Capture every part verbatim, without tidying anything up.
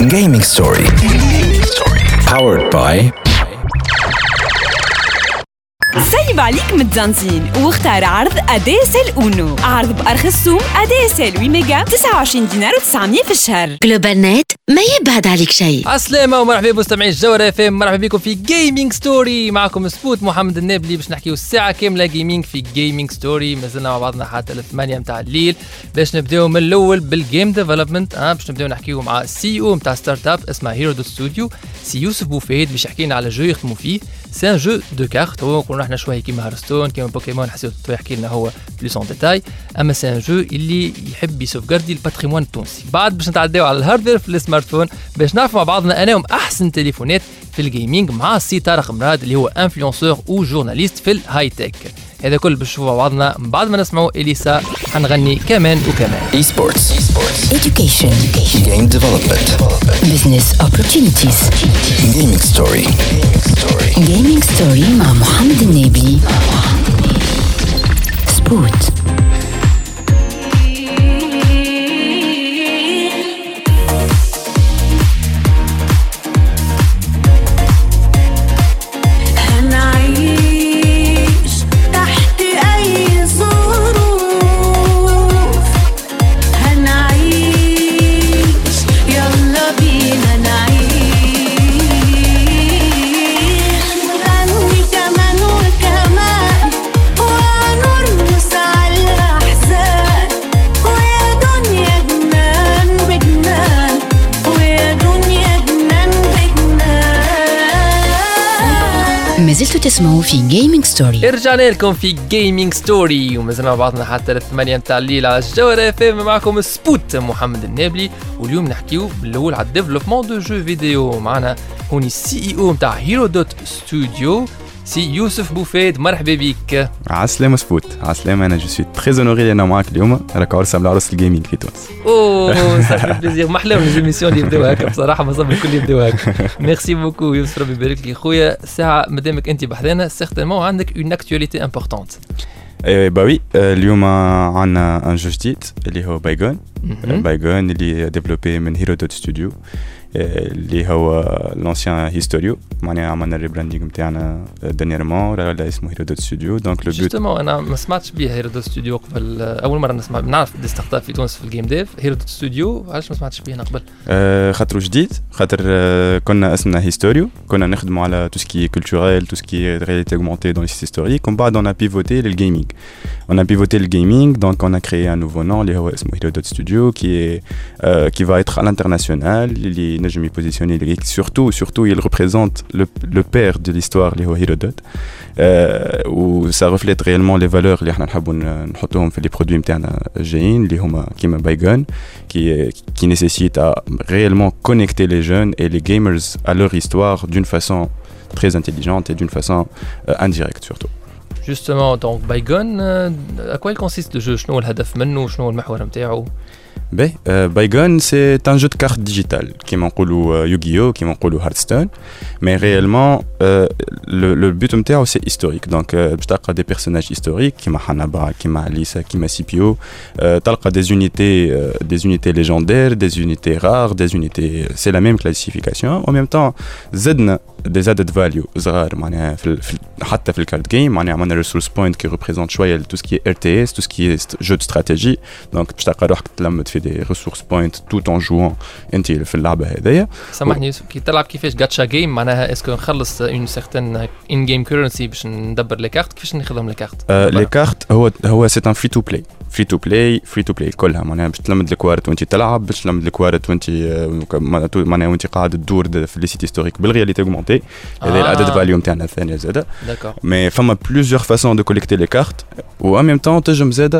Gaming Story. Powered by سيب عليك متزنزين واختار عرض أديسل أونو. عرض بأرخص سوم أديسل ثمانية ميجا تسعة وعشرين دينار وتسعمية في الشهر. جلوبال نت ما يبعد عليك شيء. عسلامة ومرحبا بمستمعي الجوهرة اف ام، مرحبا بكم في جيمنج ستوري. معكم سبوت محمد النابلي باش نحكيو الساعة كاملة جيمنج في جيمنج ستوري. مازلنا مع بعضنا حتى الثمانية متاع الليل باش نبداو من الأول بالجيم ديفلوبمنت. اه باش نبداو نحكيو مع السي او متاع ستارت اب اسمها هيرو دوت ستوديو، سي يوسف بوفيد، باش يحكي لنا على جو يخدموا فيه. سي ان جو دو كارت، هو نقولوا احنا شويه كيما هارستون كيما بوكيمون، حسيت يحكي لنا هو بلوس اون ديتاي. اما سي ان جو اللي يحب يسوفغاردي الباتريمون التونسي. بعد باش نتعداو على الهاردوير في السمارت فون باش نعرفوا مع بعضنا انا احسن تليفونات في الجيمنج مع السي طارق مراد اللي هو انفلونسور و جورناليست في الهاي تك. هذا كل باش نشوفوا مع بعضنا بعد ما نسمعوا اليسا حنغني كمان وكمان. اي سبورتس، Education, Game Development, Business Opportunities, Gaming Story. Gaming Story مع محمد النابلي. سبوت. ما زلتوا تسمعوا في جيمنج ستوري. رجعنا لكم في جيمنج ستوري ومازلنا مع بعضنا حتى الثمانية متاع الليل على الجوهرة اف ام. معكم سبوت محمد النابلي، واليوم نحكيو بالاول على الديفلوبمون دو جو فيديو. معنا هوني السي اي او متاع هيرو دوت ستوديو سي يوسف بوفيد. مرحبا بك. عسلامة سبوت. عسلامة. انا جو سوي تري اونوري انا معاك اليوم. راك عرس على عرس الجيمنج في تونس. اوه صافي بليزير. ما احلاهم ليزيميسيون اللي يبداو هكا بصراحه، ما صاب الكل يبداو هكا. ميرسي بوكو يوسف، ربي يبارك لك خويا. ساعه مادامك انت بحذانا سيغتينمون عندك اون اكتواليتي امبورطونت. اي با وي، اليوم عندنا ان جو جديد اللي هو بايغون. بايغون اللي ديفلوبي من هيرو دوت ستوديو اللي هو لانسيان هيستوريو. معناها عملنا الريبراندينغ نتاعنا دانييرمون، راه اسمه هيرو دوت ستوديو. دونك لو بوت جوستومون انا ما سمعتش بيه هيرو دوت ستوديو قبل، اول مره نسمع. نعرف دي ستارت اب في تونس في الجيم ديف. هيرو دوت ستوديو علاش ما سمعتش بيه انا قبل؟ آه خاطر جديد، خاطر آه كنا اسمنا هيستوريو، كنا نخدموا على تو سكي كولتوريل، تو سكي رياليتي اوغمونتي دون لي سيت هيستوريك. ومن بعد on a pivoté للجيمنج. on a pivoté le gaming, donc on a créé un nouveau nom, اللي هو اسمه Hero dot Studio, qui est euh, qui va être à l'international. اللي نجم يبوزيسيوني surtout surtout il représente le le père de l'histoire اللي هو Hero dot. euh, و ça reflète réellement les valeurs اللي احنا نحبوا نحطوهم في les produits نتاعنا الجايين اللي هما كيما بايغون qui qui nécessite à réellement connecter les jeunes et les gamers à leur histoire d'une façon très intelligente et d'une façon euh, indirecte surtout. Justement, donc Baygon, euh, à quoi il consiste le jeu? شنو الهدف منه؟ شنو المحور نتاعو؟ Ben, euh, Baygon, c'est un jeu de cartes digital qui m'encoulou euh, Yu-Gi-Oh, qui m'encoulou Hearthstone, mais réellement euh, le, le but نتاعو c'est historique. Donc باش تلقى des personnages historiques كيما حنبا كيما ليسا كيما سيبيو. تلقى des unités euh, des unités légendaires, des unités rares, des unités, c'est la même classification. En même temps زدنا des added value صغار معناها في, في حتى في الكارد جيم. معناها عملنا resource point qui représente شويه tout ce qui est R T S, tout ce qui est jeu de stratégie. donc باش تلقى روحك تلمد في des ressources point tout en jouant انت في اللعبه هذيا. سامحني يوسف، كي تلعب كيفاش جاتشا جيم معناها اسكو نخلص اون سيغتين ان جيم كورنسي باش ندبر لي كارت؟ كيفاش نخدم لي كارت؟ لي كارت هو هو سي ان فري تو بلاي فري تو بلاي فري تو بلاي كلها. معناها باش تلمد الكوارت وانت تلعب، باش تلمد الكوارت وانت معناها وانت قاعد تدور في لي سيت هيستوريك بالرياليتي اوغمونتي. هذا العدد فاليو نتاعنا الثانيه زاده. مي فما بليزيور فاسون دو كوليكتي لي كارت، و ان ميم طون تنجم زاده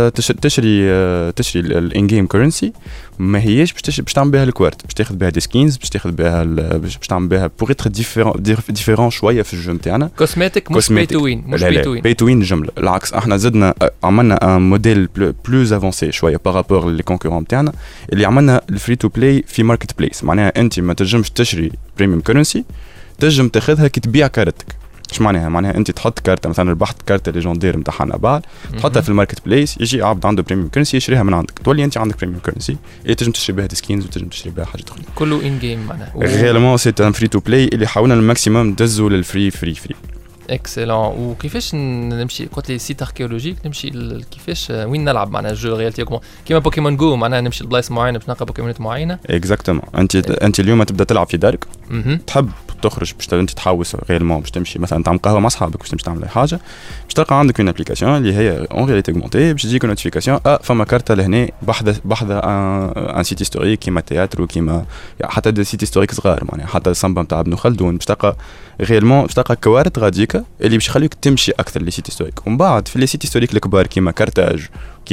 تشري تشري الان جيم كورنسي. ما هيش باش باش تعمل بها الكوارت، باش تاخذ بها دي سكينز، باش تاخذ بها باش تعمل بها بوغ اتر ديفيرون ديفيرون شويه في الجو نتاعنا. كوسميتيك مش بي تو وين، مش بي تو وين. بي تو وين جمله العكس. احنا زدنا عملنا ان موديل بلوز افونسي شويه بارابور لي كونكورون نتاعنا اللي عملنا الفري تو بلاي في ماركت بليس. معناها انت ما تنجمش تشري بريميوم كورنسي، تنجم تاخذها كي تبيع كارتك. اش معناها معناها انت تحط كارت مثلا ربحت كارت ليجوندير نتاع حنابال تحطها في الماركت بليس يجي عبد عنده بريميوم كرنسي يشريها من عندك تولي انت عندك بريميوم كرنسي اللي تنجم تشري بها سكينز وتنجم تشري بها حاجات اخرى كله ان جيم معناها ريالمون سي ان فري تو بلاي اللي حاولنا الماكسيموم ندزوا للفري فري فري اكسلون. وكيفاش نمشي قلت لي سيت اركيولوجيك نمشي كيفاش وين نلعب معناها الجو رياليتي كيما بوكيمون جو معناها نمشي لبلايص معينه باش نلقى بوكيمونات معينه اكزاكتومون انت انت اليوم تبدا تلعب في دارك تحب تخرج باش انت تحوس ريالمون باش تمشي مثلا تعمل قهوه مع اصحابك باش تمشي تعمل اي حاجه باش تلقى عندك اون ابليكاسيون اللي هي اون رياليتي اوغمونتي باش تجيك نوتيفيكاسيون اه فما كارته لهنا بحذا بحذا ان سيت هيستوريك كيما تياتر وكيما حتى دي سيت هيستوريك صغار معناها حتى الصنبه نتاع ابن خلدون باش تلقى ريالمون باش تلقى كوارث غاديكا اللي باش يخليك تمشي اكثر لي سيت هيستوريك ومن بعد في لي سيت هيستوريك الكبار كيما كارتاج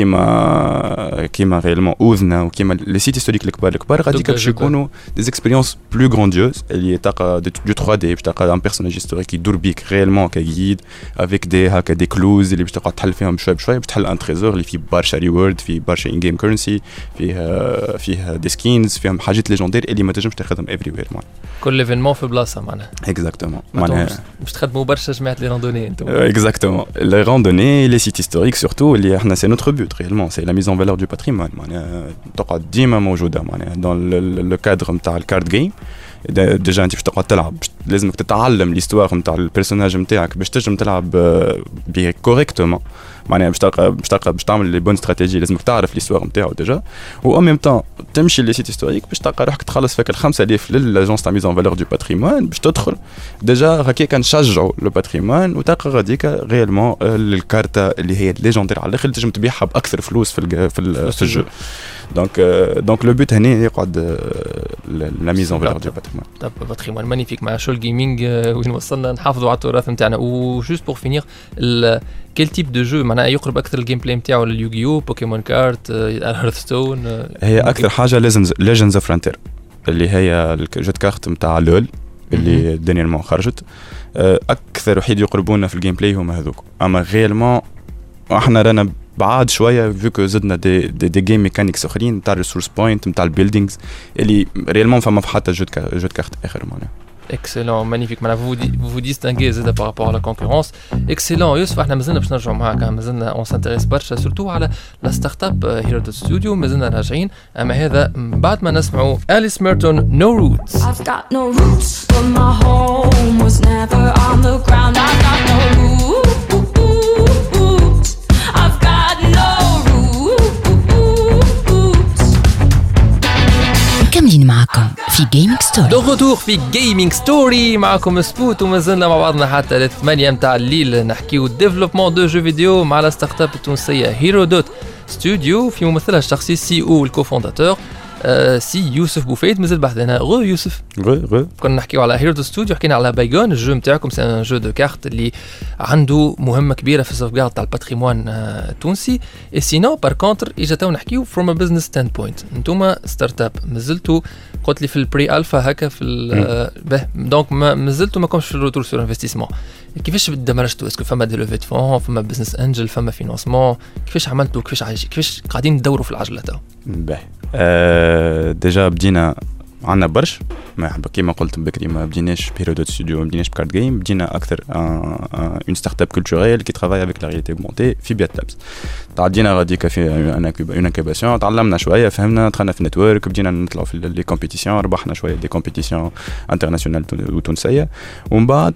كيما كيما ريالمون اوزنا وكيما لي سيت هيستوريك الكبار الكبار غاديكا باش يكونوا دي اكسبيريونس بلو غرانديوز اللي تلقى دو ثري دي باش تلقى ان بيرسوناج هيستوريك يدور بيك ريالمون كجيد افيك دي هكا دي كلوز اللي باش تقعد تحل فيهم شويه بشويه باش تحل ان تريزور اللي فيه برشا ريورد فيه برشا ان جيم كرنسي فيه فيه دي سكينز فيهم حاجات ليجوندير اللي ما تنجمش تاخذهم افري وير معناها كل ايفينمون في بلاصه معناها اكزاكتومون معناها باش تخدموا برشا جماعه لي راندوني انتم اكزاكتومون لي راندوني لي سيت هيستوريك سورتو اللي احنا سي نوتر بوت ريالمون سي لا ميز ان فالور دو باتريمون معناها تقعد ديما موجوده معناها دون لو كادر نتاع الكارد جيم ديجا انت باش تقعد تلعب لازمك تتعلم ليستوار نتاع البيرسوناج نتاعك باش تنجم تلعب بيه كوريكتومون معناها باش تلقى باش تلقى باش تعمل لي بون استراتيجي لازمك تعرف ليستوار نتاعو ديجا و ان ميم طون تمشي لي سيت هيستوريك باش تلقى روحك تخلص فيك ال خمسة آلاف للاجونس تاع ميز ان فالور دو باتريمون باش تدخل ديجا هكاك نشجعوا لو باتريمون وتلقى غاديك ريالمون الكارته اللي هي ليجوندير على الاخر تنجم تبيعها باكثر فلوس في في, في الجو دونك دونك لو بوت هنا يقعد لا ميز ان فالور دو باتريمون طب باتريمون مانيفيك مع شو الجيمنج وين وصلنا نحافظوا على التراث نتاعنا وجوست بور فينير كل تيب دو جو معناها يقرب اكثر الجيم بلاي نتاعو لليوغيو بوكيمون كارت هيرثستون هي اكثر حاجه ليجندز اوف فرونتير اللي هي الجو كارت نتاع لول اللي دانييرمون خرجت اكثر وحيد يقربونا في الجيم بلاي هما هذوك اما ريالمون احنا رانا بعاد شويه فيكو زدنا دي دي, دي جيم ميكانيكس اخرين نتاع الريسورس بوينت نتاع البيلدينغز اللي ريالمون فما في حتى جو جو كارت اخر معناها Excellent, magnifique. Maintenant, vous vous, vous distinguez par rapport à la concurrence. Excellent. Youssef, احنا مازلنا باش نرجعوا معاك مازلنا on s'intéresse برشا surtout على la startup Hero Studio مازلنا راجعين اما هذا بعد ما نسمعوا أليس ميرتون No Roots. I've got no roots but my home was never on the ground. I've got no roots. I've got no roots. مكملين معكم في جيمنج ستوري. دو روتور في جيمنج ستوري معكم سبوت ومازلنا مع بعضنا حتى للثمانية متاع الليل نحكيو ديفلوبمون دو جو فيديو مع الستارت اب التونسية هيرو دوت ستوديو في ممثلها الشخصي سي او الكوفونداتور آه سي يوسف بوفيد. مازال بحثنا غو يوسف غو غو كنا نحكيو على هيرو دوت ستوديو حكينا على بايغون الجو نتاعكم سي ان جو دو كارت اللي عنده مهمة كبيرة في السوفغارد تاع الباتريمون التونسي اي سينو بار كونتر اجا تو نحكيو فروم ا بزنس ستاند بوينت انتوما ستارت اب مازلتوا قلت لي في البري الفا هكا في به دونك ما زلتوا ما كومش في الروتور سور انفستيسمون كيفاش دمرجتوا اسكو فما دي لوفي فون فما بزنس انجل فما فينانسمون كيفاش عملتوا كيفاش عايش كيفاش قاعدين تدوروا في العجله تو باهي أه ديجا بدينا عندنا برش ما كيما قلت بكري ما بديناش بهيرو دوت ستوديو ما بديناش بكارد جيم بدينا اكثر اون ستارت اب كولتوريل كي ترافاي افيك لا رياليتي اوغمونتي في بيات لابس تعدينا غاديكا في اون انكوباسيون تعلمنا شويه فهمنا دخلنا في النتورك بدينا نطلعوا في لي كومبيتيسيون ربحنا شويه دي كومبيتيسيون انترناسيونال وتونسيه ومن بعد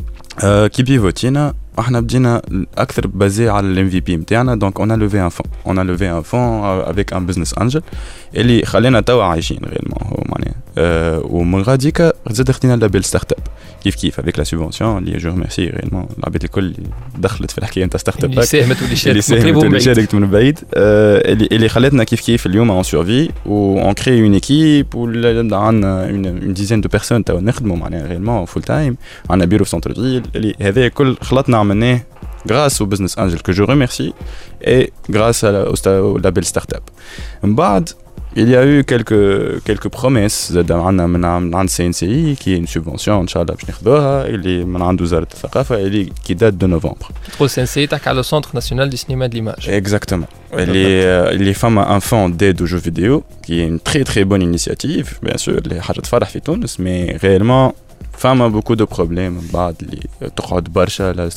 أه كي بيفوتينا احنا بدينا اكثر بازي على الام في بي نتاعنا دونك اون ا لوفي ان فون اون ا لوفي ان فون افيك ان بزنس انجل اللي خلينا توا عايشين ريالمون هو معناها أه ومن غاديكا زاد خدينا لابيل ستارت اب كيف كيف افيك لا سوبونسيون اللي جو ريميرسي ريالمون العباد الكل اللي دخلت في الحكايه نتاع ستارت اب اللي ساهمت واللي شاركت اللي شاركت من بعيد أه اللي اللي خلاتنا كيف كيف اليوم اون سورفي و اون كري اون ايكيب وعندنا اون ديزين دو بيرسون توا نخدموا معناها ريالمون فول تايم عندنا بيرو في سونتر فيل اللي هذا كل خلطنا عملناه grâce au business angel que je remercie et grâce à la, au label startup. بعد il y a eu quelques quelques promesses زاد عندنا من عند سي ان سي qui est une subvention ان شاء الله باش ناخذوها اللي من عند وزارة الثقافة اللي qui date de novembre. تقول سي ان سي تحكي على السنتر ناسيونال دي سينما دي ليماج. Exactement. اللي اللي فما un fond d'aide aux jeux vidéo qui est une très très bonne initiative bien sûr اللي حاجة تفرح في تونس mais réellement فما بوكو دو بروبليم بعد اللي تقعد برشا لا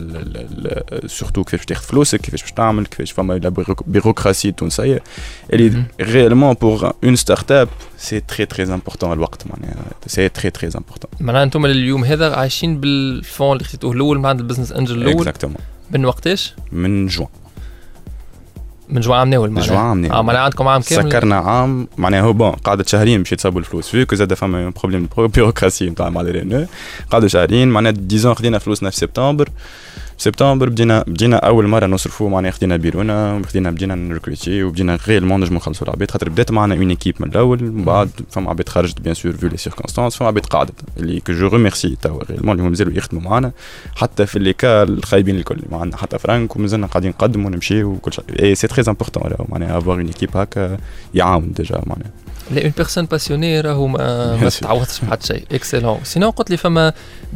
سورتو كيفاش تاخذ فلوسك كيفاش باش تعمل كيفاش فما لا بيروقراسي تونسيه اللي ريالمون بور اون ستارت اب سي تري تري امبورطون الوقت معناها سي تري تري امبورطون. معناها انتم اليوم هذا عايشين بالفون اللي خديتوه الاول مع البزنس انجل الاول اكزاكتومون من وقتاش؟ من جوان من جوان عام ناول معناها جوان عام ناول اه معناها عندكم عام كامل سكرنا عام معناها هو بون قعدت شهرين باش يتصابوا الفلوس فيك زاد فما بروبليم بيروقراسي نتاع مع لي قعدوا شهرين معناها ديزون خدينا فلوسنا في سبتمبر سبتمبر بدينا بدينا اول مره نصرفوا معناها خدينا بيرونا وخدينا بدينا نركروتي وبدينا ريالمون نجمو نخلصوا العباد خاطر بدات معنا اون ايكيب من الاول من بعد فما عباد خرجت بيان سور فيو لي سيركونستانس فما عباد قعدت اللي كو جو ريميرسي توا ريالمون اللي هم مازالوا يخدموا معنا حتى في لي كا الخايبين الكل معنا حتى فرانك ومازلنا قاعدين نقدموا ونمشيو وكل شيء اي سي تري امبورطون معناها افوار اون ايكيب هكا يعاون ديجا معناها لا اون بيرسون باسيوني راهو ما, ما تتعوضش بحد شيء اكسلون سينو قلت لي فما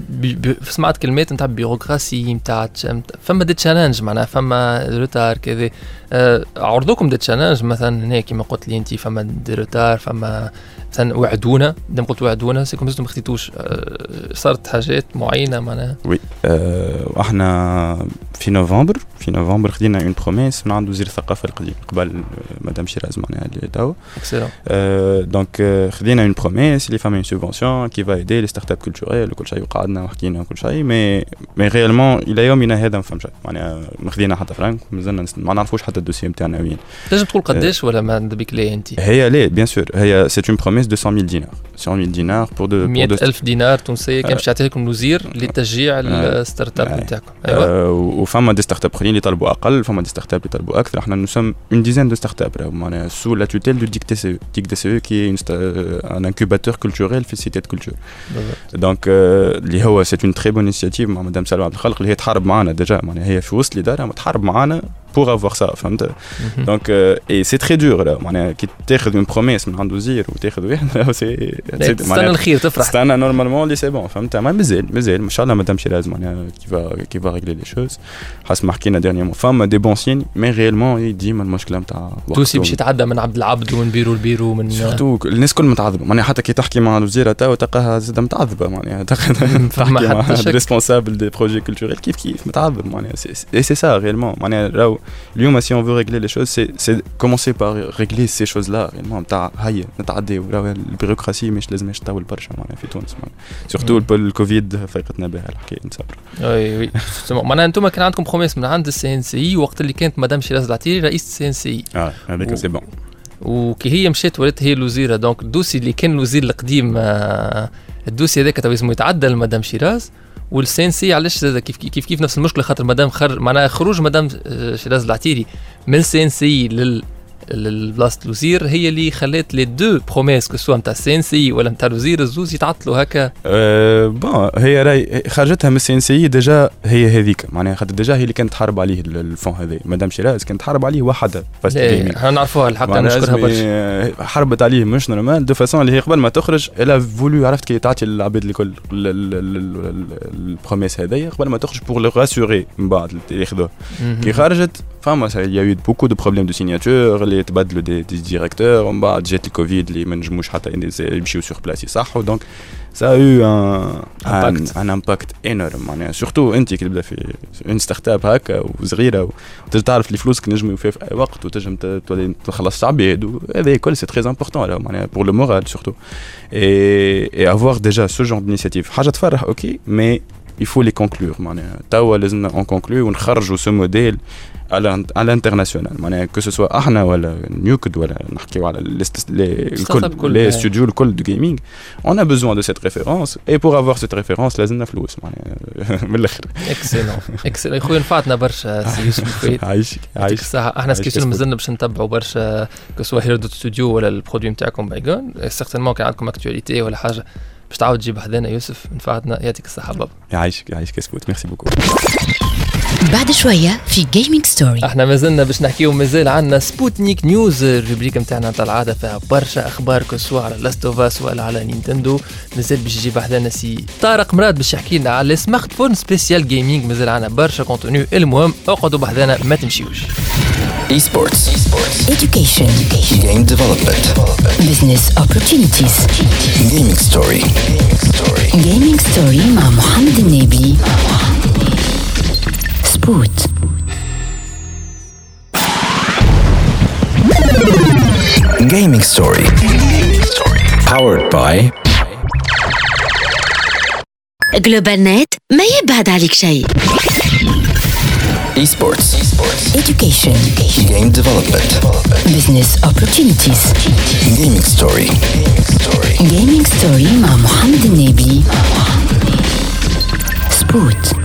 سمعت كلمات نتاع بيروقراسي نتاع فما دي تشالنج معناها فما روتار كذا أه عرضوكم دي تشالنج مثلا هنا كيما قلت لي انت فما دي روتار فما مثلا وعدونا دام قلت وعدونا سيكم ما خديتوش أه صارت حاجات معينه معناها وي أه احنا في نوفمبر في نوفمبر خدينا اون بروميس من عند وزير الثقافه القديم قبل مدام شيراز معناها اللي توا اكسلون أه دونك خدينا اون بروميس اللي فما اون سوبونسيون كي فا ايدي لي ستارت اب كولتوريل وكل شيء وقعدنا وحكينا وكل شيء مي مي ريالمون الى يومنا هذا ما فهم شيء معناها ما خدينا حتى فرانك مازلنا ما نعرفوش حتى الدوسي نتاعنا وين. تنجم تقول قداش ولا ما عندك ليه انت؟ هي ليه بيان سور هي سي اون بروميس دو مية دينار مية دينار بور دو مية ألف دينار تونسيه كان باش يعطيكم الوزير لتشجيع الستارت اب نتاعكم. ايوا وفما دي ستارت اب اخرين اللي طلبوا اقل فما دي ستارت اب اللي طلبوا اكثر احنا نسم اون ديزين دو ستارت اب معناها سو لا توتيل دو ديك تي سي ديك دي سي كي ان انكوباتور كولتوريل في سيتي كولتور دونك اللي هو سي اون تري بون انيشيتيف مع مدام سلوى عبد الخالق اللي هي تحارب معنا ديجا معناها هي في وسط الاداره تحارب معنا pour avoir ça فهمت donc euh, et c'est très dur là معناها كي تاخذ une promesse من عند وزير وتاخذ واحد سي تستنى الخير تفرح تستنى نورمالمون لي سي بون فهمت ما مازال مازال ان شاء الله مدام شيراز معناها كي فا كي فا ريغلي لي شوز حسب ما حكينا ديرنييرمون فما دي بون سين مي ريالمون ديما المشكله نتاع توسي باش يتعدى من عبد العبد ومن بيرو لبيرو من سورتو الناس كل متعذبه معناها حتى كي تحكي مع الوزيره تاو تلقاها زاد متعذبه معناها تحكي مع الريسبونسابل دي بروجي كولتوريل كيف كيف متعذب معناها سي سي سا ريالمون معناها راهو اليوم si on veut régler les choses c'est c'est commencer par régler ces choses là réellement نتاع هيا نتعديو راهو البيروقراسي مش لازمش تطول برشا معناها في تونس سورتو الكوفيد فايقتنا بها الحكايه نصبر. وي وي معناها انتم كان عندكم بروميس من عند السي ان سي وقت اللي كانت مدام شيراز العتيري رئيس السي ان سي اه هذاك سي بون وكي هي مشات ولات هي الوزيره دونك الدوسي اللي كان الوزير القديم الدوسي هذاك تو اسمه يتعدى لمدام شيراز والسينسي علاش زاد كيف كيف كيف نفس المشكله خاطر مدام خرج معناها خروج مدام شيراز العتيري من السينسي لل البلاصه الوزير هي اللي خلات لي دو بروميس كو سوا نتاع السينسي ولا نتاع الوزير الزوز يتعطلوا هكا. أه بون هي راي خرجتها من السينسي ديجا هي هذيك معناها خاطر ديجا هي اللي كانت تحارب عليه الفون هذا مدام شيراز كانت تحارب عليه وحده فاست جيمنج احنا نعرفوها الحق نشكرها برشا حربت عليه مش نورمال دو فاسون اللي هي قبل ما تخرج الا فولو عرفت كي تعطي العباد الكل البروميس هذايا قبل ما تخرج بور لو راسوري من بعد ياخذوه كي خرجت فما il y a eu beaucoup de problèmes de signature اللي تبدلوا دي دي ديريكتور ومن بعد جات الكوفيد اللي ما نجموش حتى يمشيو سور بلاس يصحوا دونك ça a eu un impact un, un impact énorme معناها سورتو انت كي تبدا في اون ستارت اب هكا وصغيره وتجي تعرف لي فلوسك نجموا يوفوا في اي وقت وتنجم تولي تخلص عباد هذا كل سي تري امبورطون معناها pour le moral surtout et et avoir déjà ce genre d'initiative حاجه تفرح اوكي mais il faut les conclure معناها توا لازمنا on conclure ونخرجوا ce modèle à l'international معناها que ce soit احنا ولا نيوكد ولا نحكيو على الكل لي ستوديو الكل دو جيمنج on a besoin de cette référence et pour avoir cette référence لازمنا فلوس معناها من الاخر. اكسلون اكسلون خويا نفعتنا برشا سي يوسف الفايد عايشك عايشك احنا سكيسون مازلنا باش نتبعوا برشا كسوا هيرو دو ستوديو ولا البرودوي نتاعكم بايغون سيغتينمون كان عندكم اكتواليتي ولا حاجه باش تعاود تجيب حدانا يوسف نفعتنا يعطيك الصحه بابا. يعيشك يعيشك سكوت ميرسي بوكو. بعد شويه في جيمنج ستوري احنا مازلنا باش نحكيو مازال عندنا سبوتنيك نيوز الروبريك نتاعنا تاع العاده فيها برشا اخبار كسوا على لاست اوف اس ولا على نينتندو مازال باش يجيب حدانا سي طارق مراد باش يحكي لنا على سمارت فون سبيسيال جيمنج مازال عندنا برشا كونتوني المهم اقعدوا بحذانا ما تمشيوش. Esports. Education. Game development. Business opportunities. Gaming story. جيمنج ستوري مع محمد النبي. سبوت. Gaming Story. Powered by جلوبال نت ما يبعد عليك شيء. Esports. Education. Game development. Business opportunities. Gaming Story. جيمنج ستوري مع محمد النبي. سبوت.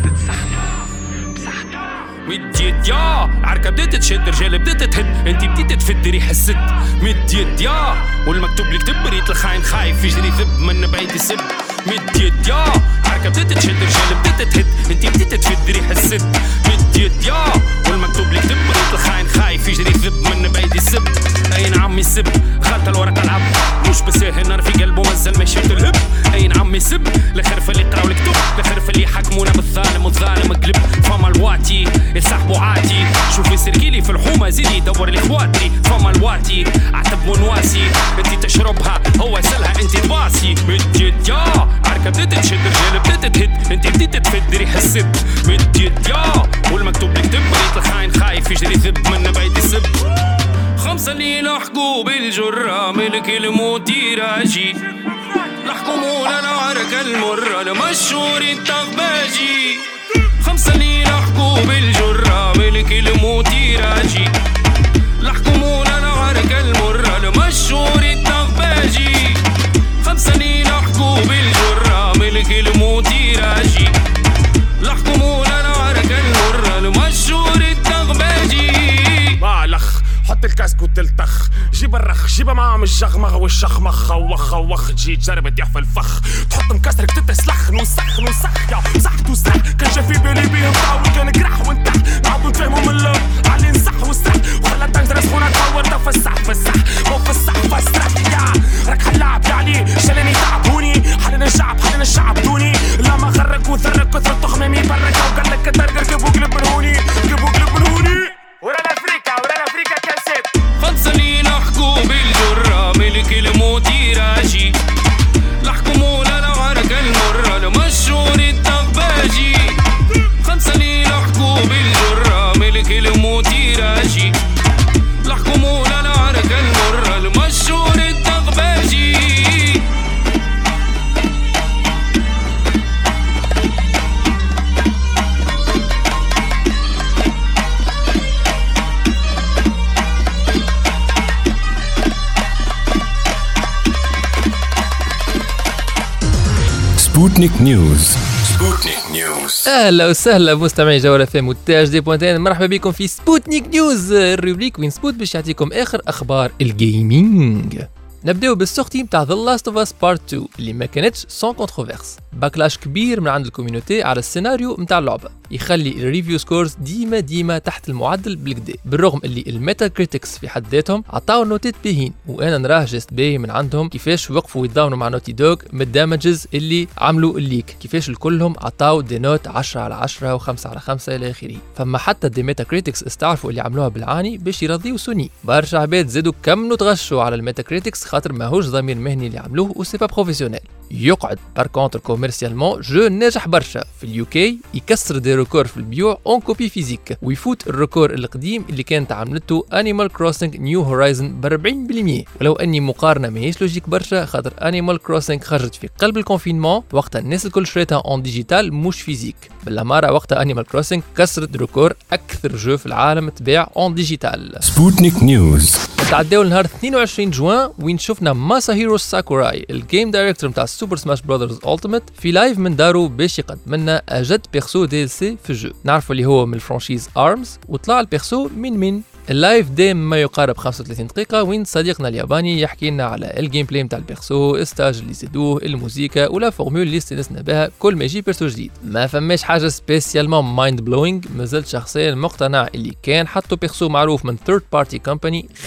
مديت يا عركة بديت تشد رجال بديت تهد انتي بديت تفد ريح السد مديت يا والمكتوب لك تبريت الخاين خايف يجري ذب من بعيد يسب مديت يا عركة بديت تشد رجال بديت تهد انتي بديت تفد ريح السد مديت يا والمكتوب لك تبريت الخاين خايف يجري ذب من بعيد يسب اي نعم يسب خالت الورق العب مش بساهل نار في قلبه مازال ما شفت الهب اي نعم يسب لخرف اللي يقراو الكتب لخرف اللي يحكمونا بالظالم والظالم قلب فما الواتي يسحبوا عاتي شوفي سرقيلي في الحومه زيدي يدور لي خواتي فما الواتي عتب ونواسي انتي تشربها هو يسلها انتي تباسي مديت يا عركه بديت تشد رجال بديت تهد انتي بديت تفد ريح السد مديت يا والمكتوب لك تبريت الخاين خايف يجري ذب من بعيد يسب خمسة اللي لحقوا بالجرة ملك الموت يراجي لحكمونا العركة المرة المشهور التغباجي خمسة اللي لحقوا بالجرة ملك الموت يراجي لحكمونا العركة المرة المشهور التغباجي خمسة اللي لحقوا بالجرة ملك الموت يراجي لحكمونا العركة المرة المشهور التغباجي بالخ حط الكاسك وتلتخ جيب الرخ جيب معاهم الجغمغ والشخمخ وخ وخ تجي تجرب تطيح في الفخ تحط مكسرك تتسلخ نوسخ نوسخ يا صح توسخ كان شافي بالي بيهم طاول كان قرح وانتح نعاودو نتفاهمو من اللون علي نصح وسح وخلى تنجر سخونة تطور تفسح فسح وفسح فسح يا راك حلاب يا علي شالني تعبوني حلنا الشعب حلنا الشعب دوني لما غرك وذرك كثر تخمامي برك وقال لك ترقر جيبو قلب من هوني جيبو قلب من هوني ورا الافريكا ورا الافريكا كاسيت خمسة اللي لحقوا بالجرة ملك الموت يراجي لحكمونا العركة المرة المشهور التغباجي خمسة اللي لحقوا بالجرة ملك الموت يراجي لحكمونا العركة المرة المشهور التغباجي سبوتنيك نيوز. سبوتنيك نيوز. اهلا وسهلا مستمعي جوله فيم وتاج دي بوينتين، مرحبا بكم في سبوتنيك نيوز، الروبريك وين سبوت باش يعطيكم اخر اخبار الجيمنج. نبداو بالسورتي نتاع ذا لاست اوف اس بارت اثنين اللي ما كانتش سون كونتروفيرس، باكلاش كبير من عند الكوميونيتي على السيناريو نتاع اللعبه يخلي الريفيو سكورز ديما ديما تحت المعدل بالكدا، بالرغم اللي الميتا كريتكس في حد ذاتهم عطاو نوتات باهين، وانا نراه جست باهي من عندهم كيفاش وقفوا يتضاونوا مع نوتي دوغ من الدامجز اللي عملوا الليك، كيفاش الكلهم عطاو دي نوت عشرة على عشرة و5 على خمسة الى اخره. فما حتى دي ميتا كريتكس استعرفوا اللي عملوها بالعاني باش يرضيوا سوني، برشا عباد زادوا كملوا تغشوا على الميتا كريتكس خاطر ماهوش ضمير مهني اللي عملوه وسي با بروفيسيونيل. يقعد بار كونتر كوميرسيالمون جو ناجح برشا في اليوكي، يكسر دي ريكور في البيوع اون كوبي فيزيك، ويفوت الريكور القديم اللي كانت عملته انيمال كروسنج نيو هورايزن ب أربعين بالمية، ولو اني مقارنه ماهيش لوجيك برشا خاطر انيمال كروسنج خرجت في قلب الكونفينمون وقتها الناس الكل شريتها اون ديجيتال مش فيزيك، بالاماره وقتها انيمال كروسنج كسرت ريكور اكثر جو في العالم تباع اون ديجيتال. سبوتنيك نيوز. تعداو لنهار اثنين وعشرين جوان وين شفنا ماساهيرو ساكوراي الجيم دايركتور نتاع سوبر سماش براذرز التيميت في لايف من دارو باش يقدم لنا اجد بيرسو دي ال سي في الجو، نعرفوا اللي هو من الفرانشيز ارمز، وطلع البيرسو من من اللايف ديم ما يقارب خمسة وثلاثين دقيقة، وين صديقنا الياباني يحكي لنا على الجيم بلاي نتاع البيرسو، الستاج اللي زادوه، الموسيقى ولا فورمول اللي استنسنا بها كل ما يجي بيرسو جديد. ما فماش حاجة سبيسيالمون مايند بلوينغ، مازلت شخصيا مقتنع اللي كان حطوا بيرسو معروف من ثيرد بارتي كومباني خير.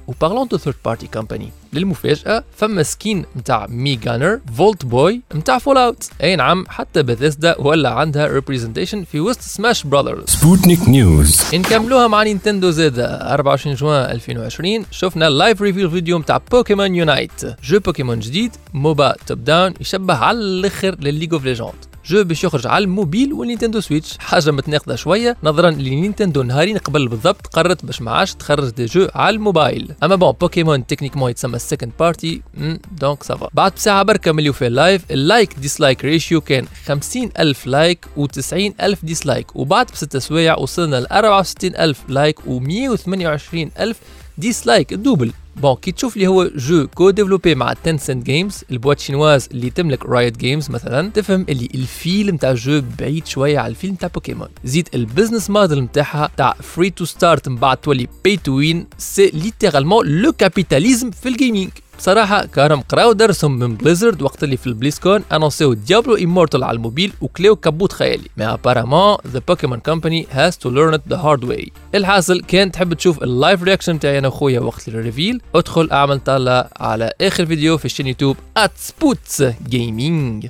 وبارلون دو ثيرد بارتي كومباني للمفاجأة فما سكين متاع مي جانر فولت بوي متاع فول اوت. اي نعم حتى بثيسدا ولا عندها ريبريزنتيشن في وسط سماش براذرز. سبوتنيك نيوز. نكملوها مع نينتندو زادا. أربعة وعشرين جوان ألفين وعشرين شفنا اللايف ريفيل فيديو متاع بوكيمون يونايت، جو بوكيمون جديد موبا توب داون يشبه على الاخر للليج اوف ليجند. جو باش يخرج على الموبيل والنينتندو سويتش، حاجه متناقضه شويه نظرا لنينتندو نهارين قبل بالضبط قررت باش ما عادش تخرج دي جو على الموبايل. اما بون بوكيمون تكنيكمون يتسمى السكند بارتي دونك سافا. بعد بساعه بركه مليو في اللايف اللايك ديسلايك ريشيو كان خمسين ألف لايك و90 ألف ديسلايك، وبعد بست سوايع وصلنا ل أربعة وستين ألف لايك و128 وعشرين ألف ديسلايك الدوبل. بون كي تشوف لي هو جو كو ديفلوبي مع تنسنت جيمز البوات شينواز اللي تملك رايت جيمز مثلا، تفهم اللي الفيلم تاع جو بعيد شويه على الفيلم تاع بوكيمون. زيد البزنس موديل نتاعها تاع فري تو ستارت من بعد تولي باي تو وين، سي ليترالمون لو كابيتاليزم في الجيمنج. بصراحة كارم قراو درسهم من بليزرد وقت اللي في البليسكون انونسيو ديابلو امورتال على الموبيل وكلاو كبوت خيالي. مي ابارامون ذا بوكيمون كومباني هاز تو ليرن ات ذا هارد واي. الحاصل كان تحب تشوف اللايف رياكشن تاعي انا وخويا وقت الريفيل، ادخل اعمل طالع على اخر فيديو في الشين يوتيوب @سبوتس جيمنج.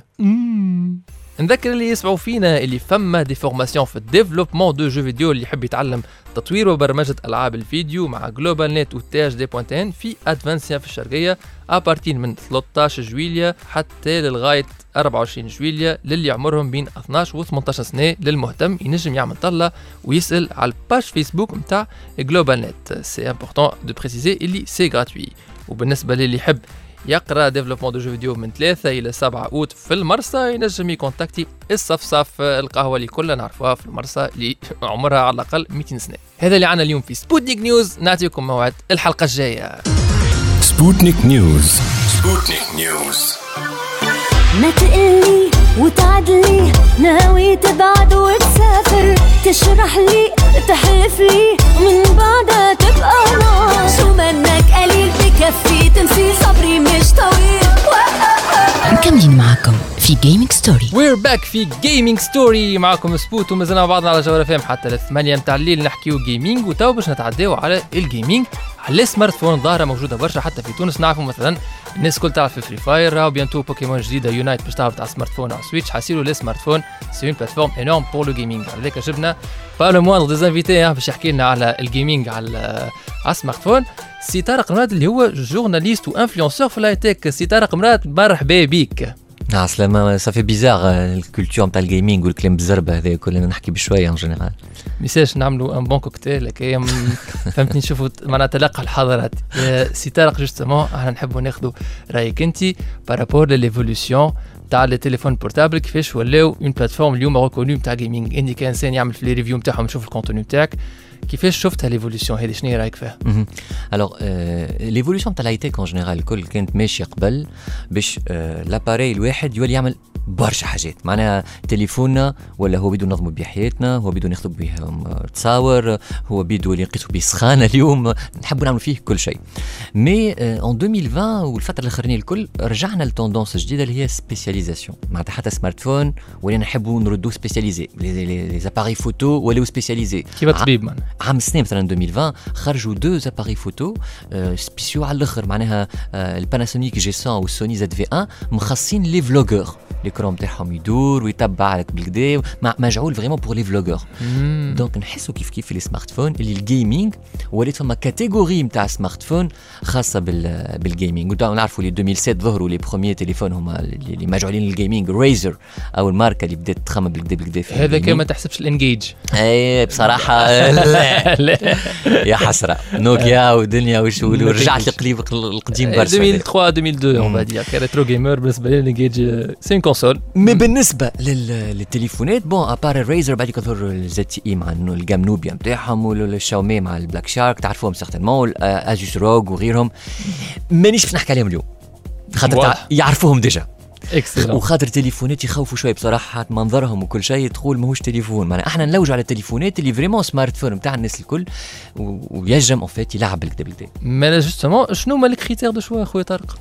نذكر اللي يسمعوا فينا اللي فما دي فورماسيون في الديفلوبمون دو جو فيديو اللي يحب يتعلم تطوير وبرمجه العاب الفيديو مع جلوبال نت وتاج دي بوينتين في ادفانسيا في الشرقيه ابارتين من ثلاثة عشر جويلية حتى للغايه أربعة وعشرين جويلية للي عمرهم بين اثناش و ثمانية عشر سنه. للمهتم ينجم يعمل طلة ويسال على الباج فيسبوك نتاع جلوبال نت. سي امبورطون دو بريسيزي اللي سي غراتوي. وبالنسبه للي يحب يقرا ديفلوبمون دو جو فيديو من ثلاثة إلى سبعة أوت في المرسى ينجم يكونتاكتي الصفصف القهوة اللي كلنا نعرفوها في المرسى اللي عمرها على الأقل مئتين سنة. هذا اللي عنا اليوم في سبوتنيك نيوز، نعطيكم موعد الحلقة الجاية. سبوتنيك نيوز. سبوتنيك نيوز. ما تقلي وتعدلي ناوي تبعد وتسافر، تشرح لي تحلف لي من بعدها تبقى نار. شو منك قليل بكفي تنسي صبري مش طويل. مكملين معاكم في جيمنج ستوري. وير باك في جيمنج ستوري معاكم سبوت ومازلنا مع بعضنا على جوهر فهم حتى الثمانية متاع الليل نحكيو جيمنج. وتو باش نتعداو على الجيمنج على السمارت فون. ظاهرة موجودة برشا حتى في تونس. نعرفوا مثلا الناس كل تعرف في فري فاير، راهو بيانتو بوكيمون جديدة يونايت باش تهبط على سمارت فون على سويتش. حاسيلو لي سمارت فون سي اون بلاتفورم انورم بور لو جيمنج. على ذاك جبنا با لو موان دي انفيتي باش يحكي لنا على الجيمنج على على السمارت فون. سي طارق مراد اللي هو جورناليست وانفلونسور في الهاي تك. سي طارق مراد مرحبا بيك. اه سلامة. صافي بيزار الكولتور نتاع الجيمنج والكلام بالزربه هذا كلنا نحكي بشويه ان جينيرال. ميساج نعملوا ان بون كوكتيل هكايا فهمتني نشوفوا معناها تلقى الحضارات. سي طارق جوستومون احنا نحبوا ناخذوا رايك انت بارابور لليفولوسيون تاع لي تليفون بورتابل كيفاش ولاو اون بلاتفورم اليوم ريكونو نتاع جيمنج. انت كانسان يعمل في لي ريفيو نتاعهم يشوف الكونتوني نتاعك كيفاش شفتها ليفولوسيون هذه شنو رايك فيها؟ الوغ ليفولوسيون تاع الهايتك اون جينيرال الكل كانت ماشيه قبل باش لاباري الواحد يولي يعمل برشا حاجات. معناها تليفوننا ولا هو بيدو نظموا بيه حياتنا، هو بيدو ناخذوا بيه تصاور، هو بيدو اللي نقيسوا بيه سخانه اليوم، نحبوا نعملوا فيه كل شيء. مي اون ألفين وعشرين والفتره الاخرانيه الكل رجعنا لتوندونس جديده اللي هي سبيسياليزاسيون. معناتها حتى سمارت فون ولينا نحبوا نردوا سبيسياليزي، لي زاباري فوتو ولاو سبيسياليزي. كيف الطبيب معناها عام سنه مثلا ألفين وعشرين خرجوا دو زاباري فوتو سبيسيو على الاخر. معناها الباناسونيك جي مية والسوني زد في واحد مخصصين لي فلوغور، الكروم تاعهم يدور ويتبع لك بالكدا، مجعول فريمون بور لي فلوغور. دونك نحسوا كيف كيف في لي سمارت فون اللي الجيمنج ولات فما كاتيجوري نتاع سمارت فون خاصه بال بالجيمنج. ونعرفوا لي ألفين وسبعة ظهروا لي بروميير تليفون هما اللي مجعولين للجيمنج، ريزر او الماركه اللي بدات تخمم بالكدا بالكدا في هذا كما تحسبش الانجيج. اي بصراحه لا, لا. يا حسره نوكيا ودنيا وش ورجعت لقريب القديم برشا ألفين وثلاثة ألفين واثنين اون فادير كريترو جيمر. بالنسبه لي الانجيج سي كونسول. مي بالنسبه للتليفونات بون ابار الريزر بعد يظهر الزد تي اي مع الجام نوبيا نتاعهم والشاومي مع البلاك شارك تعرفوهم سيغتينمون، ازوس روغ وغيرهم. مانيش باش نحكي عليهم اليوم خاطر يعرفوهم ديجا. وخاطر تليفونات يخوفوا شويه بصراحه منظرهم وكل شيء، تقول ماهوش تليفون. معناها احنا نلوجوا على التليفونات اللي فريمون سمارت فون نتاع الناس الكل ويجم اون فيت يلعب بالكدا بالكدا. مالا جوستومون شنو هما لي كريتير دو شوا خويا طارق؟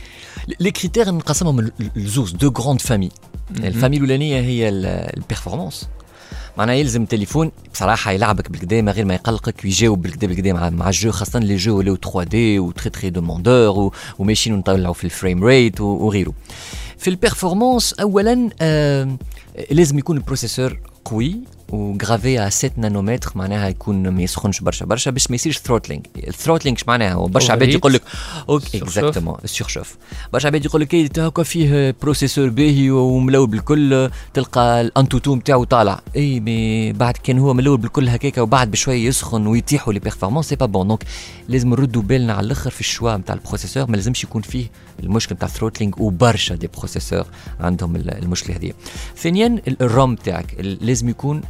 لي كريتير نقسمهم لزوز دو غروند فامي. الفامي الاولانيه هي البيرفورمانس، معناها يلزم تليفون بصراحه يلعبك بالكدا من غير ما يقلقك ويجاوب بالكدا بالكدا مع مع الجو، خاصه لي جو ولاو ثري دي و تري تري دوموندور وماشيين نطلعوا في الفريم ريت وغيره. في البيرفورمانس اولا آه لازم يكون البروسيسور قوي وغرافي على سبعة نانومتر، معناها يكون ما يسخنش برشا برشا باش ما يصيرش ثروتلينغ. الثروتلينغ معناها برشا عباد يقول لك اوكي اكزاكتومون السورشوف، برشا عباد يقول لك اي هكا فيه بروسيسور باهي وملول بالكل تلقى الانتوتو نتاعو طالع، اي مي بعد كان هو ملول بالكل هكاكا وبعد بشويه يسخن ويطيحوا لي بيرفورمانس سي با بون. دونك لازم نردوا بالنا على الاخر في الشوا نتاع البروسيسور، ما لازمش يكون فيه المشكل نتاع الثروتلينغ وبرشا دي بروسيسور عندهم المشكله هذه. ثانيا الروم تاعك لازم يكون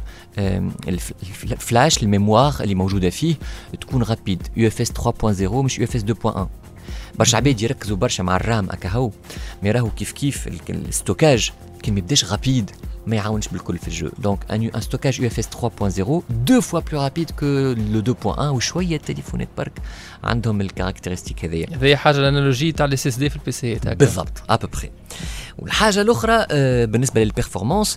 الفلاش الميموار اللي موجوده فيه تكون رابيد يو اف اس ثري بوينت صفر مش يو اف اس اثنين بوينت واحد. برشا عباد يركزوا برشا مع الرام هكا، مي راهو كيف كيف الستوكاج كي ما يبداش رابيد ما يعاونش بالكل في الجو. دونك ان ان ستوكاج يو اف اس ثري بوينت صفر دو فوا بلو رابيد كو لو اثنين بوينت واحد، وشويه تليفونات برك عندهم الكاركتيرستيك هذيا. هذه حاجه الانالوجي تاع الاس اس دي في البي سي تاعك بالضبط ابوبري. والحاجه الاخرى آه بالنسبه للبيرفورمانس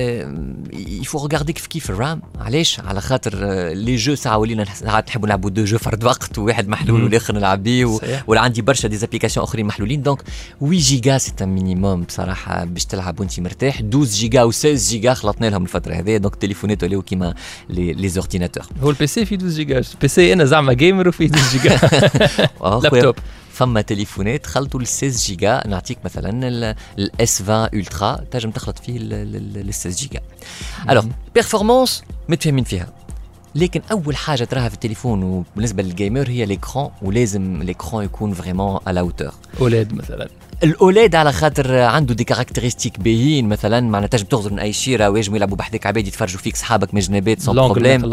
يفو ريغاردي كيف كيف الرام. علاش؟ على خاطر آه لي جو ساعه ولينا ساعات نحبوا نلعبوا دو جو فرد وقت وواحد محلول والاخر نلعب بيه، ولا عندي برشا دي زابليكاسيون اخرين محلولين. دونك ثمانية جيجا سي ان مينيموم بصراحه باش تلعب وانت مرتاح. اثنا عشر جيجا و ستة عشر جيجا خلطنا لهم الفتره هذه، دونك التليفونات ولاو كيما لي لي زورديناتور. هو البي سي فيه اثنا عشر جيجا، البي سي انا زعما جيمر وفيه اثنا عشر جيجا لابتوب. فما تليفونات خلطوا ل ستة عشر جيجا، نعطيك مثلا الاس عشرين الترا تنجم تخلط فيه ل ستة عشر جيجا. الوغ بيرفورمانس متفاهمين فيها، لكن اول حاجه تراها في التليفون وبالنسبه للجيمر هي ليكران، ولازم ليكران يكون فريمون على اوتور. اولاد مثلا الاولاد على خاطر عنده دي كاركتيرستيك باهيين، مثلا معناتها تنجم تغزر من اي شيره ويجموا يلعبوا بحذاك عباد يتفرجوا فيك صحابك من جنابات سون بروبليم.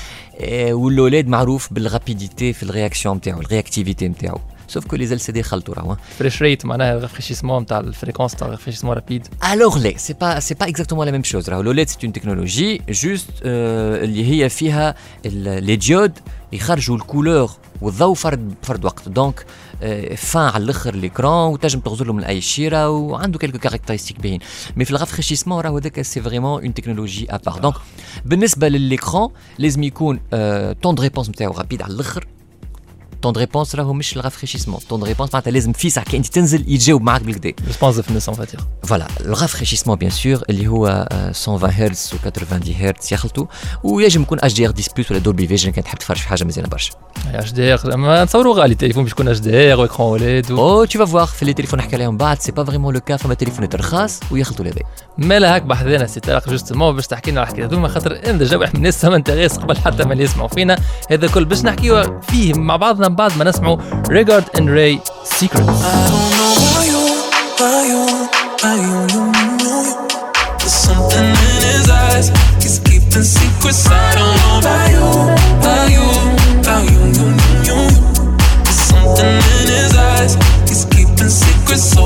والاولاد معروف بالرابيديتي في الرياكسيون نتاعو، الرياكتيفيتي نتاعو. سوف كو لي ال سي دي خلطوا راهو فريش ريت معناها رافريشيسمون نتاع الفريكونس تاع رافريشيسمون رابيد. الوغ لا سي با سي با اكزاكتومون لا ميم شوز. راهو الاولاد سي اون تكنولوجي جوست اللي هي فيها لي ديود يخرجوا الكولور والضوء فرد فرد وقت. دونك فان على الاخر ليكران وتنجم تغزر له من اي شيره وعنده كيلكو كاركتيرستيك باهين. مي في الرافريشيسمون راهو هذاك سي فريمون اون تكنولوجي ابار. دونك بالنسبه لليكران لازم يكون طون دو ريبونس نتاعو رابيد على الاخر. طون دو ريبونس راهو مش الرافريشيسمون، طون دو ريبونس معناتها لازم في ساعه كي انت تنزل يتجاوب معاك بالكدا ريسبونسيفنس اون فاتير. فوالا الرافريشيسمون بيان سور اللي هو مية وعشرين هرتز و ثمانين هرتز يخلطوا، ويجب يكون اتش دي ار عشرة بلس ولا دولبي فيجن كان تحب تفرج في حاجه مزيانه برشا. اتش دي ار ما نتصوروا غالي التليفون باش يكون اتش دي ار واكران اولاد. او تو فا فوار في لي تليفون نحكي عليهم بعد سي با فريمون لو كا. فما تليفونات رخاص ويخلطوا لهذا. مالا هاك بحثنا سي طارق جوستومون باش تحكي لنا على الحكايه هذوما، خاطر انت جاوب الناس سما انت غير قبل حتى ما يسمعوا فينا. هذا كل باش نحكيوا فيه مع بعضنا من بعد ما نسمعوا Rigard and Ray Secrets. I don't know why you, why you, why you, you, you. There's something in his eyes, he's keeping secrets. I don't know why you, why you, why you, you, you, you. There's something in his eyes, he's keeping secrets. So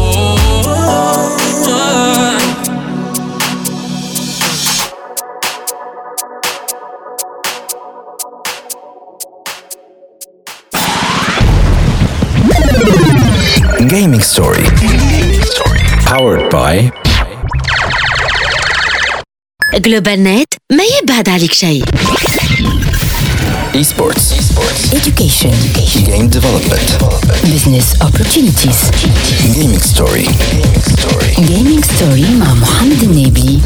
Gaming Story. Powered by Global Net ما يبعد عليك شيء. Esports. Education. Game development. Business opportunities. Gaming Story. Gaming Story مع محمد النبي.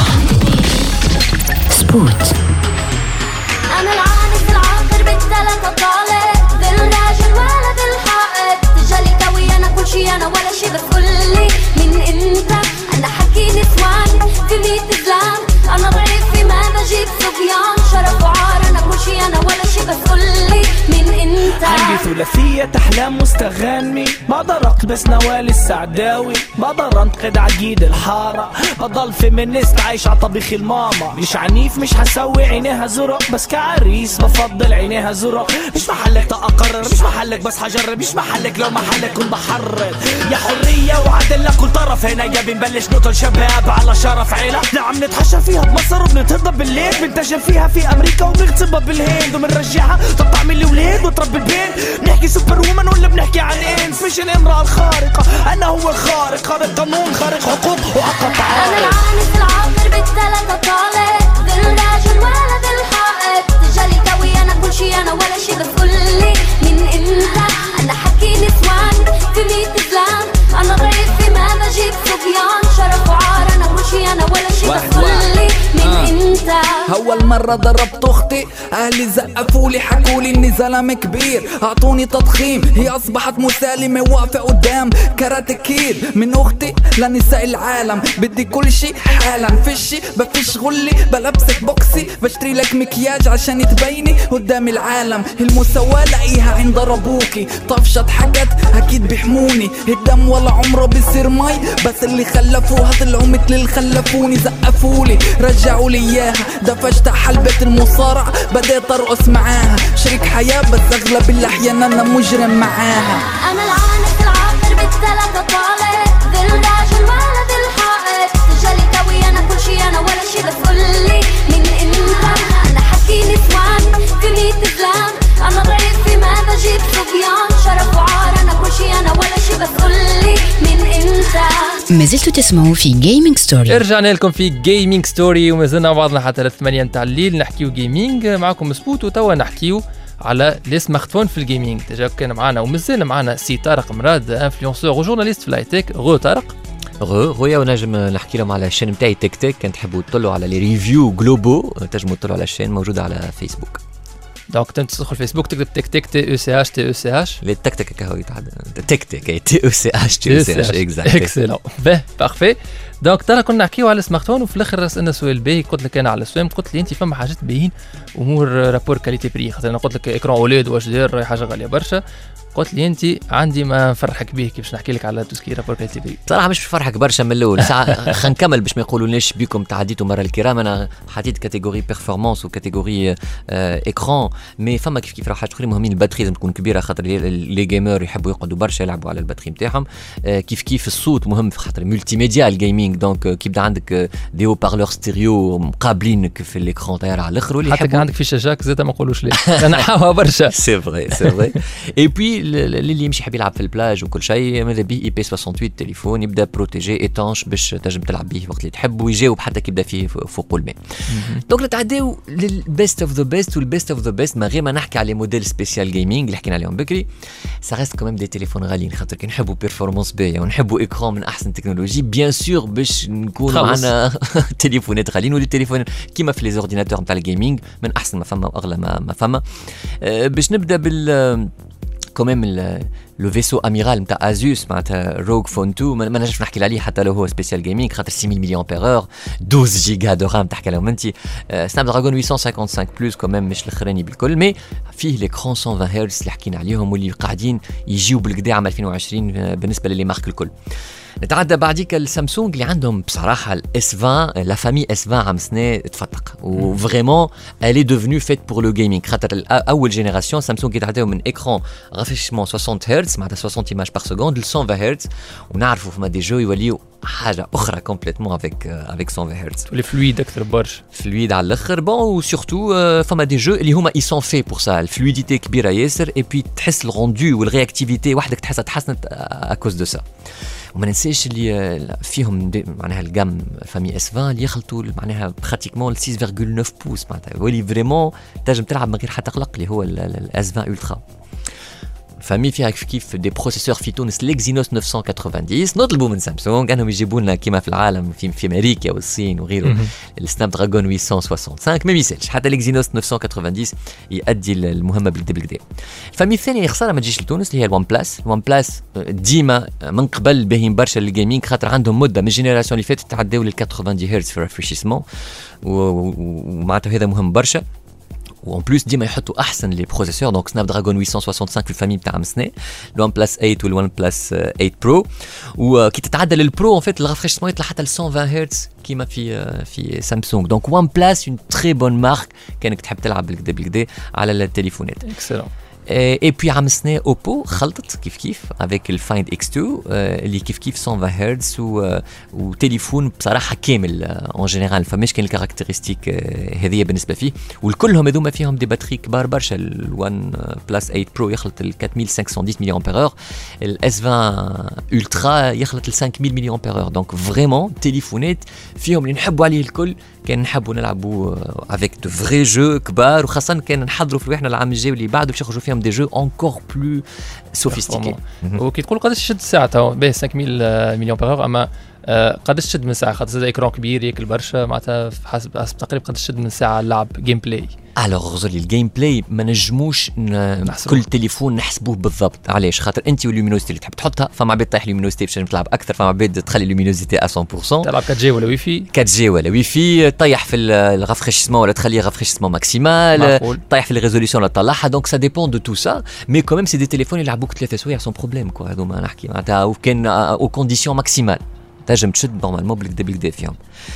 سبوت. أنا العانس العاقر بالثلاثة طالق، ذي الراجل ولا ذي الحائط، تجالي قوي أنا كل شي أنا ولا شي، بس قولي من أنت؟ أنا حكي نسوان في ميت زلام، أنا ضعيف في ما بجيب صبيان، شرف وعار أنا كل شي أنا ولا شي، بس قولي من أنت؟ عندي ثلاثية أحلام مستغنمي، بقدر أقلبس نوال السعداوي، بقدر أنتقد عقيد الحارة، بضل فيمينيست عايش عطبيخ الماما، مش عنيف مش حسوي عينيها زرق، بس كعريس بفضل عينيها زرق، مش محلك تأقرر مش محلك بس حجرب، مش محلك لو محلك كنت بحرر، يا حرية وعدل لكل طرف، هنا يا بنبلش نقتل شباب على شرف عيلة، نعم نتحشى فيها بمصر وبنتهضب بالليل، بنتجل فيها في أمريكا وبنغتصبها بالهند، وبنرجعها طب تعمل لي ولاد وتربي البيت، بنحكي سوبر وومن ولا بنحكي عن انس، مش الامرأة الخارقة، أنا هو الخارق، خارق قانون خارق حقوق وعقب تعارض. أنا العانس العاقر بالثلاثة طالق، ذي الراجل ولد الحائط تجالي كوي انا كل شي انا ولا شي بس قولي من انت انا حكي نسوان في ميت زلام انا ضيف في ماذا جيت صبيان شرف وعار انا كل شي انا ولا شي بس قولي من انت. اول مرة ضربت اختي اهلي زقفولي حكولي اني زلمة كبير اعطوني تضخيم هي اصبحت مسالمة واقفة قدام كاراتكير من اختي لنساء العالم بدي كل شي حالا فشي بفش غلي بلبسك بوكسي بشتري لك مكياج عشان تبيني قدام العالم المساواة لاقيها عند ربوكي طفشت حكت اكيد بيحموني الدم ولا عمره بيصير مي بس اللي خلفوها طلعوا مثل اللي خلفوني زقفولي رجعوا لي اياها دفشت حلبة المصارع بديت ارقص معاها شريك حياة بس اغلب الاحيان انا مجرم معاها. انا العانس العاطر بالثلاثة طالع ذي الراجل ولد الحائط تجالي كوي انا كل شي انا ولا شي بس قولي من انت انا حكي نسوان في ميت زلام انا ضيف في ماذا جيت صبيان شرف وعار انا كل شي انا ولا شي بس قولي من انت. ما زلتوا تسمعوا في جيمنج ستوري. رجعنا لكم في جيمنج ستوري وما زلنا بعضنا حتى الثمانية متاع الليل نحكيو جيمنج معكم سبوت وتوا نحكيو على لي سمارتفون في الجيمنج. ديجا كان معنا ومازال معنا سي طارق مراد انفلونسور وجورناليست في لايتيك. غو طارق. غو غويا ونجم نحكي لهم على الشين نتاعي تيك تيك كان تحبوا تطلعوا على لي ريفيو جلوبو تنجموا تطلعوا على الشين موجوده على فيسبوك. دونك تدخل فيسبوك تكتب تيك تيك تي او سي اش تي او سي اش لي تك تك كهو يتعدى تيك تيك تي او سي اش تي او سي اش اكزاكت اكسلون باه بارفي. دونك ترى كنا نحكيو على السمارت فون وفي الاخر سالنا سؤال باهي قلت لك انا على السوام قلت لي انت فما حاجات باهيين امور رابور كاليتي بري خاطر انا قلت لك اكران اولاد واش داير حاجه غاليه برشا قلت لي انت عندي ما نفرحك به كيفاش نحكي لك على توسكي رابور كاليتي بري. صراحه مش بفرحك برشا من الاول ساعه خلينا نكمل باش ما يقولوناش بكم تعديتوا مره الكرام. انا حطيت كاتيجوري بيرفورمانس وكاتيجوري اكران مي فما كيف كيف راح تقولي مهمين الباتري لازم تكون كبيره خاطر لي جيمر يحبوا يقعدوا برشا يلعبوا على الباتري نتاعهم. كيف كيف الصوت مهم خاطر ملتي ميديا الجيمنج دونك كي يبدا عندك دي هو بارلور ستيريو مقابلينك في الاكران طاير على الاخر واللي حتى كان عندك في شاشاك زاد ما نقولوش ليه انا حاوها برشا سي فري سي فري. اي بي اللي يمشي يحب يلعب في البلاج وكل شيء ماذا بيه اي بي ثمانية وثمانين تليفون يبدا بروتيجي ايتانش باش تنجم تلعب به وقت اللي تحب ويجاوب حتى كي يبدا فيه فوق الماء. دونك نتعداو للبيست اوف ذا بيست والبيست اوف ذا بيست ما غير ما نحكي على موديل سبيسيال جيمنج اللي حكينا عليهم بكري سا ريست كوميم دي تليفون غاليين خاطر كي نحبوا بيرفورمانس باهيه ونحبوا اكران من احسن تكنولوجي بيان سور باش نكون معنا تليفونات غاليين ولي تليفون كيما في لي اورديناتور نتاع الجيمنج من احسن ما فما واغلى ما, ما فما. أه باش نبدا بال كوميم لو فيسو اميرال نتاع ازوس معناتها روغ فون تو ما نجمش نحكي عليه حتى لو هو سبيسيال جيمنج خاطر ستة آلاف مليون بير اور اثنا عشر جيجا دو رام تحكي لهم انت سناب دراجون ثمانمية وخمسة وخمسين بلس كوميم مش الاخراني بالكل مي فيه ليكرون مية وعشرين هرتز اللي حكينا عليهم واللي قاعدين يجيو بالكدا عام ألفين وعشرين بالنسبه للي مارك الكل. نتعدى بعديك السامسونج اللي عندهم بصراحه الاس عشرين لا فامي اس عشرين عام سنه تفتق وفريمون الي ديفنو فيت بور لو جيمنج خاطر اول جينيراسيون سامسونج يتعداو من اكران رافيشمون ستين هرتز معناتها ستين ايماج بار سكوند ل مية وعشرين هرتز ونعرفوا فما دي جو يوليو حاجه اخرى كومبليتمون افيك افيك مية وعشرين هرتز تولي فلويد اكثر برشا فلويد على الاخر بون وسورتو فما دي جو اللي هما اي سون في بور سا الفلويديتي كبيره ياسر اي بي تحس الروندو والرياكتيفيتي وحدك تحسها تحسنت اكوز دو سا. وما ننساش اللي فيهم معناها الجام فامي اس عشرين اللي يخلطوا معناها براتيكمون ستة فاصلة تسعة بوس معناتها ولي فريمون تنجم تلعب من غير حتى قلق اللي هو الاس عشرين الترا. فامي فيها كيف دي بروسيسور في تونس ليكزينوس تسعمية وتسعين نطلبوا من سامسونج انهم يجيبوا لنا كيما في العالم في, في امريكا والصين وغيره السناب دراجون ثمانمية وخمسة وستين ما بيسالش حتى ليكزينوس تسعمية وتسعين يؤدي المهمه بالكدا بالكدا. الفامي الثانيه خساره ما تجيش لتونس اللي هي الوان بلاس. الوان بلاس ديما من قبل باهيين برشا للجيمنج خاطر عندهم مده من الجينيراسيون اللي فاتت تعداو لل ثمانين هرتز في الريفريشمون ومعناتها هذا مهم برشا. وان بلوس ديما يحطوا احسن لي بروسيسور دونك سناب دراجون ثمانمية وخمسة وستين في الفامي تاع مسنه الوان بلس ثمانية والوان بلس ثمانية برو وكي تتعدى للبرو ان فيت الرافريشمون يطلع حتى ل مية وعشرين هرتز كيما في في سامسونج. دونك وان بلس اون تري بون مارك كانك تحب تلعب بالكدا بالكدا على التليفونات. اكسلون. اي بي عام السنه اوبو خلطت كيف كيف افيك الفايند اكس اثنين اللي كيف كيف مية هرتز وتليفون بصراحه كامل اون جينيرال فماش كان الكاركتيرستيك هذه بالنسبه فيه والكلهم هذوما فيهم دي باتري كبار برشا. الوان بلس ثمانية برو يخلط ال أربعة آلاف وخمسمية وعشرة ملي امبير اور الاس عشرين الترا يخلط ال خمسمية ملي امبير اور دونك فريمون تليفونات فيهم اللي نحبوا عليه الكل. كان نحبوا نلعبوا افيك دو فري جو كبار وخاصه كان نحضروا في روحنا العام الجاي اللي بعده باش يخرجوا فيهم دي جو انكور بلو سوفيستيكي. وكي تقول قداش تشد الساعه تو به خمسمية ملي امبير اور اما قداش تشد من ساعه خاطر زاد ايكرون كبير ياكل برشا معناتها حسب حسب تقريبا قداش تشد من ساعه اللعب جيم بلاي. الوغ غزلي الجيم بلاي ما نجموش كل تليفون نحسبوه بالضبط. علاش؟ خاطر انت واللومينوزيتي اللي تحب تحطها فما عباد طايح لومينوزيتي باش تلعب اكثر فما عباد تخلي اللومينوزيتي مية بالمية تلعب فور جي ولا ويفي فور جي ولا ويفي طيح في الرافريشمون ولا تخليه رافريشمون ماكسيمال طيح في الريزوليسيون ولا تطلعها دونك سا ديبون دو تو سا مي كوميم سي دي تليفون يلعبوك ثلاثة سوايع سون بروبليم كوا هذوما نحكي معناتها وكان او كونديسيون ماكسيمال تنجم تشد نورمالمون بالكدا بالكدا فيهم.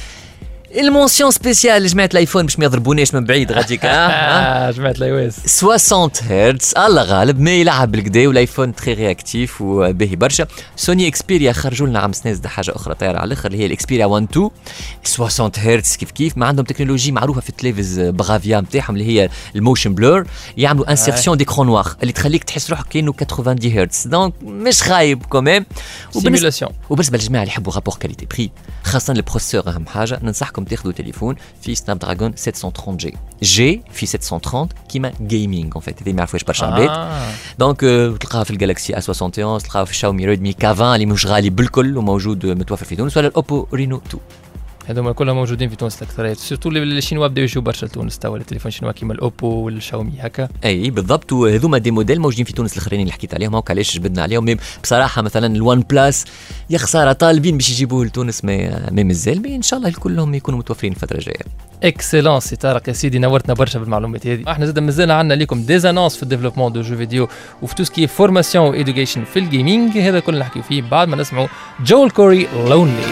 المونسيون سبيسيال جماعه الايفون باش ما يضربوناش من بعيد غاديك ها جماعه الايواز ستين هرتز الله غالب ما يلعب بالكدا والايفون تري رياكتيف وباهي برشا. سوني اكسبيريا خرجوا لنا عام سنه حاجه اخرى طايره على الاخر اللي هي الاكسبيريا واحد اثنين ستين هرتز كيف كيف ما عندهم تكنولوجي معروفه في التلفز بغافيا نتاعهم اللي هي الموشن بلور يعملوا انسيرسيون ديكرون نوار اللي تخليك تحس روحك كانه ثمانين هرتز دونك مش خايب كوميم. سيمولاسيون وبالنسبه للجماعه اللي يحبوا رابور كاليتي بري خاصه البروسيسور اهم حاجه ننصحكم تاخذوا تليفون في سناب دراجون سبعمية وثلاثين جي جي في سبعمية وثلاثين كيما جيمنج اون فيت هذه ما يعرفوش برشا عباد دونك تلقاها في الجالكسي اس واحد وستين تلقاها في الشاومي ريدمي كي عشرين اللي مش غالي بالكل وموجود متوفر في تونس ولا الاوبو رينو اثنين هذوما كلهم موجودين في تونس الاكثريه سورتو الشينوا بداو يجوا برشا لتونس توا التليفون الشينوا كيما الاوبو والشاومي هكا. اي بالضبط وهذوما دي موديل موجودين في تونس الاخرين اللي حكيت عليهم هاك علاش جبدنا عليهم بصراحه مثلا الوان بلاس يا خساره طالبين باش يجيبوه لتونس ما ما مازال ان شاء الله كلهم يكونوا متوفرين الفتره الجايه. اكسلون سي طارق يا سيدي نورتنا برشا بالمعلومات هذه. احنا زاد مازال عندنا لكم ديزانونس في الديفلوبمون دو جو فيديو وفي تو سكي فورماسيون وإيدوكيشن في الجيمنج هذا كله نحكيو فيه بعد ما نسمعوا جول كوري لونلي.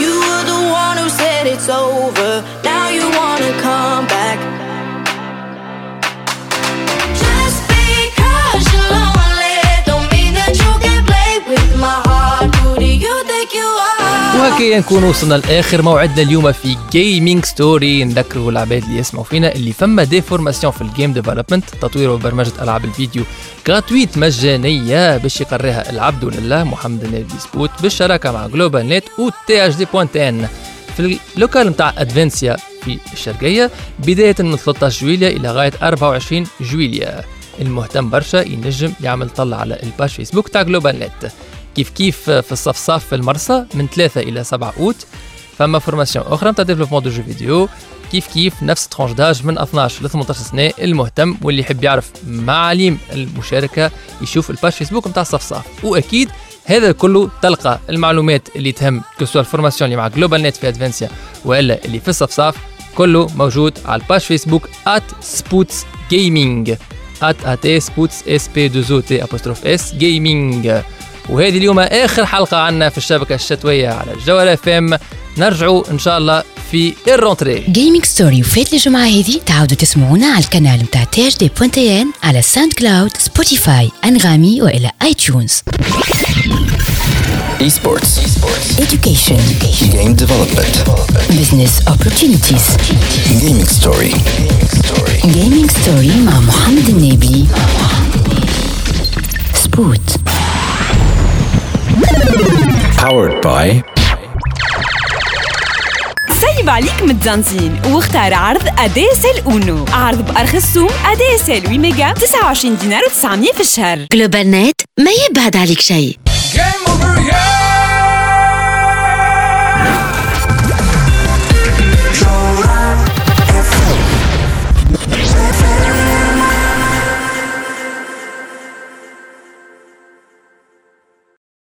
It's over, now you wanna come back. Just because you're lonely don't mean that you can play with my heart. Who do you think you are? وهكذا نكون وصلنا لاخر موعدنا اليوم في جيمنج ستوري. نذكروا العباد اللي يسمعوا فينا اللي فما دي فورماسيون في الجيم ديفلوبمنت تطوير وبرمجه العاب الفيديو غراتويت مجانيه باش يقريها العبد لله محمد النبي سبوت بالشراكه مع جلوبال نت و تي اش دي بوينت ان في اللوكال نتاع ادفنسيا في الشرقيه بدايه من ثلاثة عشر جويلية الى غايه أربعة وعشرين جويلية. المهتم برشا ينجم يعمل طلع على الباج فيسبوك تاع جلوبال نت. كيف كيف في الصفصاف في المرسى من ثلاثة الى سبعة اوت فما فورماسيون اخرى نتاع ديفلوبمون دو جو فيديو كيف كيف نفس ترونش داج من اثناش ل ثمانية عشر سنه. المهتم واللي يحب يعرف معالم المشاركه يشوف الباج فيسبوك نتاع الصفصاف. واكيد هذا كله تلقى المعلومات اللي تهم كسوا الفورماسيون اللي مع جلوبال نت في ادفنسيا والا اللي في الصفصاف كله موجود على الباج فيسبوك ات سبوتس جيمنج ات ات سبوتس اس بي دو تي ابوستروف اس جيمنج. وهذه اليوم اخر حلقه عنا في الشبكه الشتويه على الجوهره اف ام. نرجعوا ان شاء الله في الرونتري. جيمنج ستوري وفات الجمعه هذه تعاودوا تسمعونا على القناه نتاع تي اش دي بوينت ان على ساوند كلاود سبوتيفاي انغامي والى اي تيونز. Esports. Esports. Education. Education. Game development. Business opportunities. Gaming story. Gaming story مع محمد النبي. سبوت. Powered by سيب عليك متزنزين واختار عرض اديسل اونو. عرض بارخص سوم اديسل ثمانية ميجا تسعة وعشرين دينار وتسعمية في الشهر. جلوبال نت ما يبعد عليك شيء. Game over, yeah!